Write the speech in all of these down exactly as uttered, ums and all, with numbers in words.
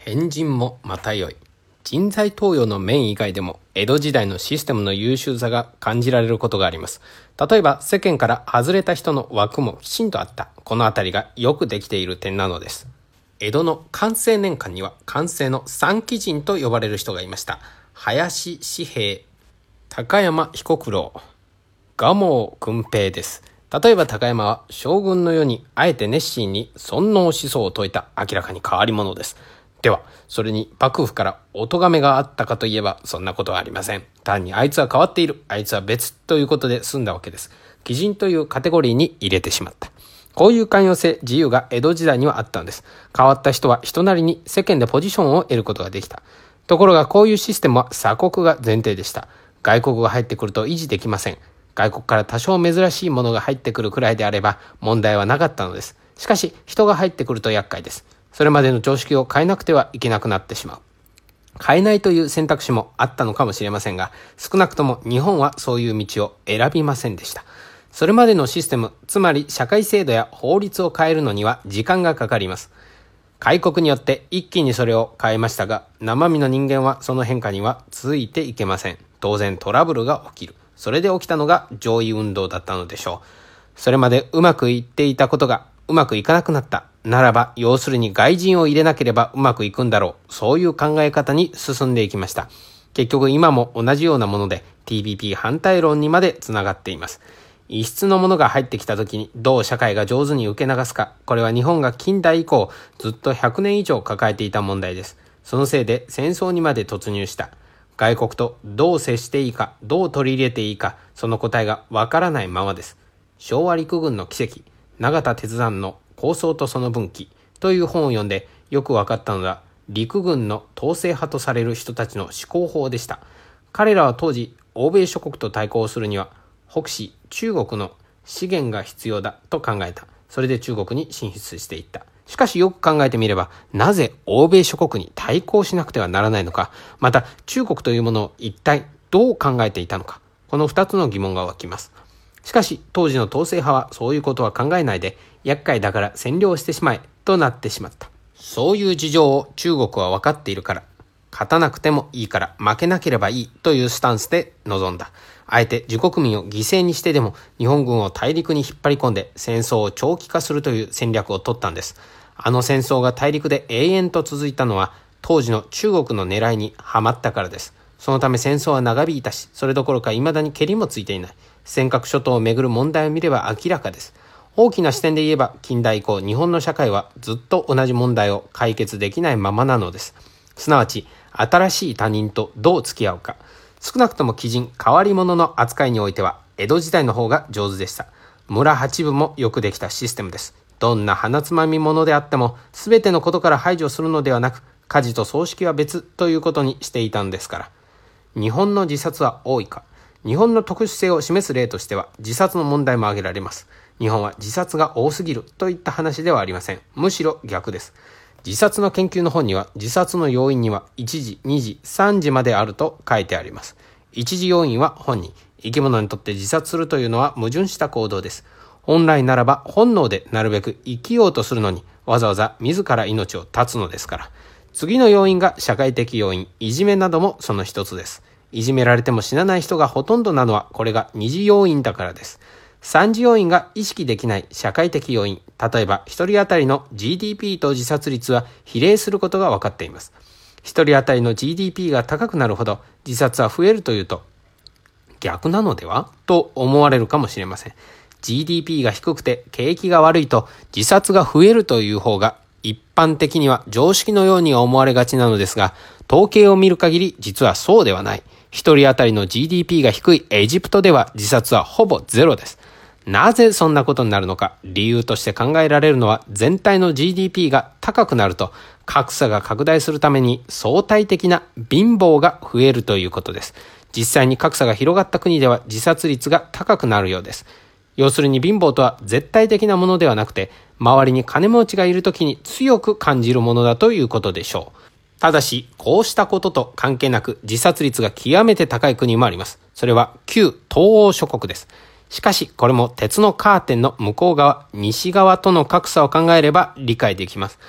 変人もまたよい。人材登用の面以外でも江戸時代のシステムの優秀さが感じられることがあります。例えば世間から外れた人の枠もきちんとあった。このあたりがよくできている点なのです。江戸の寛政年間には寛政の三奇人と呼ばれる人がいました。林紙幣、高山彦九郎、蒲生訓平です。例えば高山は将軍の世にあえて熱心に尊王思想を説いた明らかに変わり者です。では、それに幕府からお咎めがあったかといえばそんなことはありません。単にあいつは変わっている、あいつは別ということで済んだわけです。奇人というカテゴリーに入れてしまった。こういう寛容性、自由が江戸時代にはあったんです。変わった人は人なりに世間でポジションを得ることができた。ところがこういうシステムは鎖国が前提でした。外国が入ってくると維持できません。外国から多少珍しいものが入ってくるくらいであれば問題はなかったのです。しかし人が入ってくると厄介です。それまでの常識を変えなくてはいけなくなってしまう。変えないという選択肢もあったのかもしれませんが、少なくとも日本はそういう道を選びませんでした。それまでのシステム、つまり社会制度や法律を変えるのには時間がかかります。開国によって一気にそれを変えましたが、生身の人間はその変化にはついていけません。当然トラブルが起きる。それで起きたのが攘夷運動だったのでしょう。それまでうまくいっていたことがうまくいかなくなった。ならば、要するに外人を入れなければうまくいくんだろう。そういう考え方に進んでいきました。結局今も同じようなもので ティーピーピー 反対論にまでつながっています。異質のものが入ってきた時にどう社会が上手に受け流すか。これは日本が近代以降ずっとひゃくねん以上抱えていた問題です。そのせいで戦争にまで突入した。外国とどう接していいか、どう取り入れていいか、その答えがわからないままです。昭和陸軍の奇跡、永田鉄山の構想とその分岐という本を読んでよく分かったのが、陸軍の統制派とされる人たちの思考法でした。彼らは当時欧米諸国と対抗するには北支中国の資源が必要だと考えた。それで中国に進出していった。しかしよく考えてみれば、なぜ欧米諸国に対抗しなくてはならないのか、また中国というものを一体どう考えていたのか、この二つの疑問が湧きます。しかし当時の統制派はそういうことは考えないで、厄介だから占領してしまえとなってしまった。そういう事情を中国は分かっているから、勝たなくてもいいから負けなければいいというスタンスで臨んだ。あえて自国民を犠牲にしてでも日本軍を大陸に引っ張り込んで戦争を長期化するという戦略を取ったんです。あの戦争が大陸で永遠と続いたのは当時の中国の狙いにはまったからです。そのため戦争は長引いたし、それどころか未だにケリもついていない。尖閣諸島をめぐる問題を見れば明らかです。大きな視点で言えば近代以降日本の社会はずっと同じ問題を解決できないままなのです。すなわち新しい他人とどう付き合うか。少なくとも奇人、変わり者の扱いにおいては江戸時代の方が上手でした。村八分もよくできたシステムです。どんな鼻つまみ者であっても全てのことから排除するのではなく、家事と葬式は別ということにしていたんですから。日本の自殺は多いか。日本の特殊性を示す例としては自殺の問題も挙げられます。日本は自殺が多すぎるといった話ではありません。むしろ逆です。自殺の研究の本には自殺の要因にはいちじ、にじ、さんじまであると書いてあります。いちじ要因は本人。生き物にとって自殺するというのは矛盾した行動です。本来ならば本能でなるべく生きようとするのにわざわざ自ら命を絶つのですから。次の要因が社会的要因、いじめなどもその一つです。いじめられても死なない人がほとんどなのはこれが二次要因だからです。三次要因が意識できない社会的要因。例えば一人当たりの ジーディーピー と自殺率は比例することが分かっています。一人当たりの ジーディーピー が高くなるほど自殺は増えるというと逆なのではと思われるかもしれません。ジーディーピー が低くて景気が悪いと自殺が増えるという方が一般的には常識のように思われがちなのですが、統計を見る限り実はそうではない。一人当たりの ジーディーピー が低いエジプトでは自殺はほぼゼロです。なぜそんなことになるのか。理由として考えられるのは全体の ジーディーピー が高くなると格差が拡大するために相対的な貧乏が増えるということです。実際に格差が広がった国では自殺率が高くなるようです。要するに貧乏とは絶対的なものではなくて、周りに金持ちがいるときに強く感じるものだということでしょう。ただし、こうしたことと関係なく自殺率が極めて高い国もあります。それは旧東欧諸国です。しかし、これも鉄のカーテンの向こう側、西側との格差を考えれば理解できます。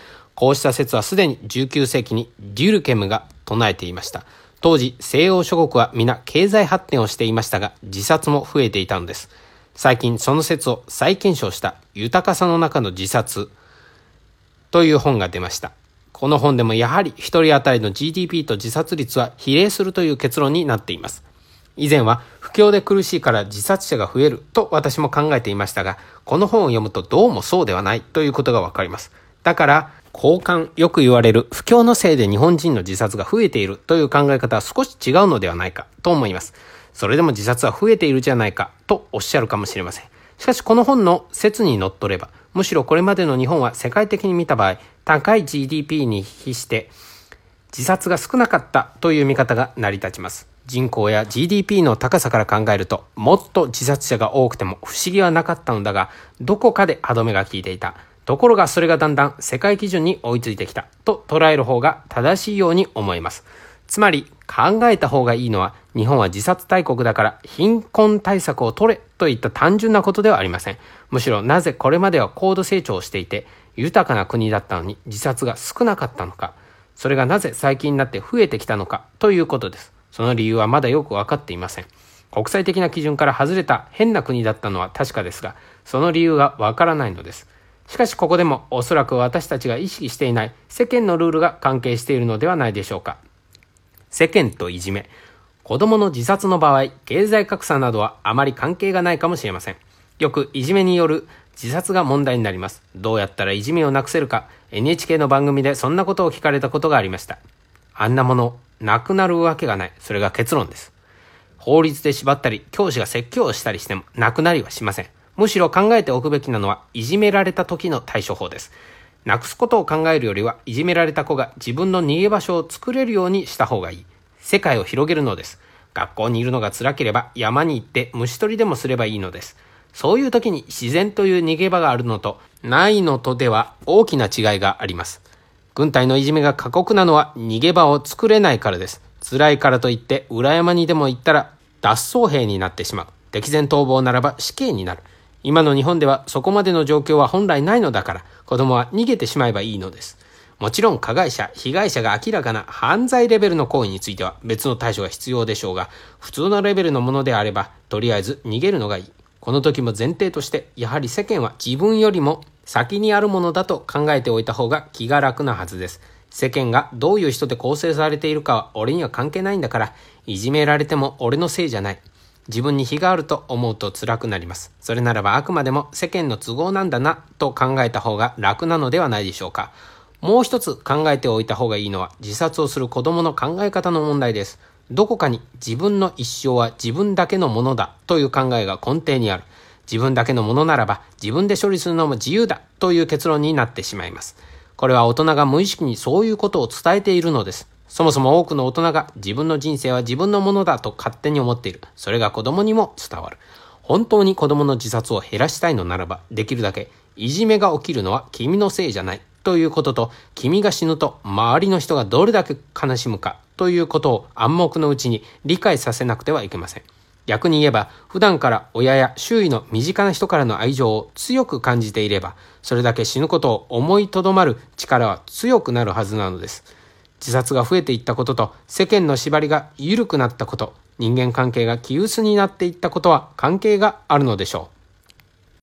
こうした説はすでにじゅうきゅうせいきにデュルケムが唱えていました。当時、西欧諸国は皆経済発展をしていましたが、自殺も増えていたのです。最近その説を再検証した豊かさの中の自殺という本が出ました。この本でもやはり一人当たりの ジーディーピー と自殺率は比例するという結論になっています。以前は不況で苦しいから自殺者が増えると私も考えていましたが、この本を読むとどうもそうではないということがわかります。だから交換、よく言われる不況のせいで日本人の自殺が増えているという考え方は少し違うのではないかと思います。それでも自殺は増えているじゃないかとおっしゃるかもしれません。しかしこの本の説にのっとれば、むしろこれまでの日本は世界的に見た場合、高い ジーディーピー に比して自殺が少なかったという見方が成り立ちます。人口や ジーディーピー の高さから考えると、もっと自殺者が多くても不思議はなかったのだが、どこかで歯止めが効いていた。ところがそれがだんだん世界基準に追いついてきたと捉える方が正しいように思います。つまり考えた方がいいのは、日本は自殺大国だから貧困対策を取れといった単純なことではありません。むしろなぜこれまでは高度成長していて豊かな国だったのに自殺が少なかったのか、それがなぜ最近になって増えてきたのかということです。その理由はまだよく分かっていません。国際的な基準から外れた変な国だったのは確かですが、その理由が分からないのです。しかしここでもおそらく私たちが意識していない世間のルールが関係しているのではないでしょうか。世間といじめ、子供の自殺の場合、経済格差などはあまり関係がないかもしれません。よくいじめによる自殺が問題になります。どうやったらいじめをなくせるか、エヌエイチケー の番組でそんなことを聞かれたことがありました。あんなもの、なくなるわけがない。それが結論です。法律で縛ったり、教師が説教をしたりしてもなくなりはしません。むしろ考えておくべきなのは、いじめられた時の対処法です。なくすことを考えるよりは、いじめられた子が自分の逃げ場所を作れるようにした方がいい。世界を広げるのです。学校にいるのが辛ければ山に行って虫取りでもすればいいのです。そういう時に自然という逃げ場があるのとないのとでは大きな違いがあります。軍隊のいじめが過酷なのは逃げ場を作れないからです。辛いからといって裏山にでも行ったら脱走兵になってしまう。敵前逃亡ならば死刑になる。今の日本ではそこまでの状況は本来ないのだから、子供は逃げてしまえばいいのです。もちろん加害者、被害者が明らかな犯罪レベルの行為については別の対処が必要でしょうが、普通のレベルのものであればとりあえず逃げるのがいい。この時も前提として、やはり世間は自分よりも先にあるものだと考えておいた方が気が楽なはずです。世間がどういう人で構成されているかは俺には関係ないんだから、いじめられても俺のせいじゃない。自分に非があると思うと辛くなります。それならばあくまでも世間の都合なんだなと考えた方が楽なのではないでしょうか。もう一つ考えておいた方がいいのは、自殺をする子供の考え方の問題です。どこかに自分の一生は自分だけのものだという考えが根底にある。自分だけのものならば自分で処理するのも自由だという結論になってしまいます。これは大人が無意識にそういうことを伝えているのです。そもそも多くの大人が自分の人生は自分のものだと勝手に思っている。それが子供にも伝わる。本当に子供の自殺を減らしたいのならば、できるだけいじめが起きるのは君のせいじゃないということと、君が死ぬと周りの人がどれだけ悲しむかということを暗黙のうちに理解させなくてはいけません。逆に言えば、普段から親や周囲の身近な人からの愛情を強く感じていれば、それだけ死ぬことを思いとどまる力は強くなるはずなのです。自殺が増えていったことと、世間の縛りが緩くなったこと、人間関係が気薄になっていったことは関係があるのでしょう。